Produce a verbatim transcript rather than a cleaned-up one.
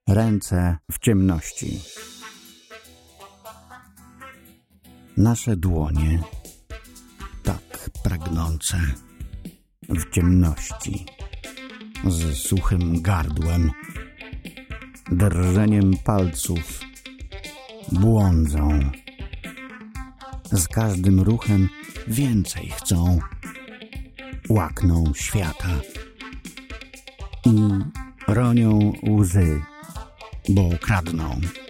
Ręce w ciemności. Nasze dłonie, tak pragnące, w ciemności, z suchym gardłem, drżeniem palców, błądzą. Z każdym ruchem więcej chcą, łakną świata i ronią łzy, bo kradną.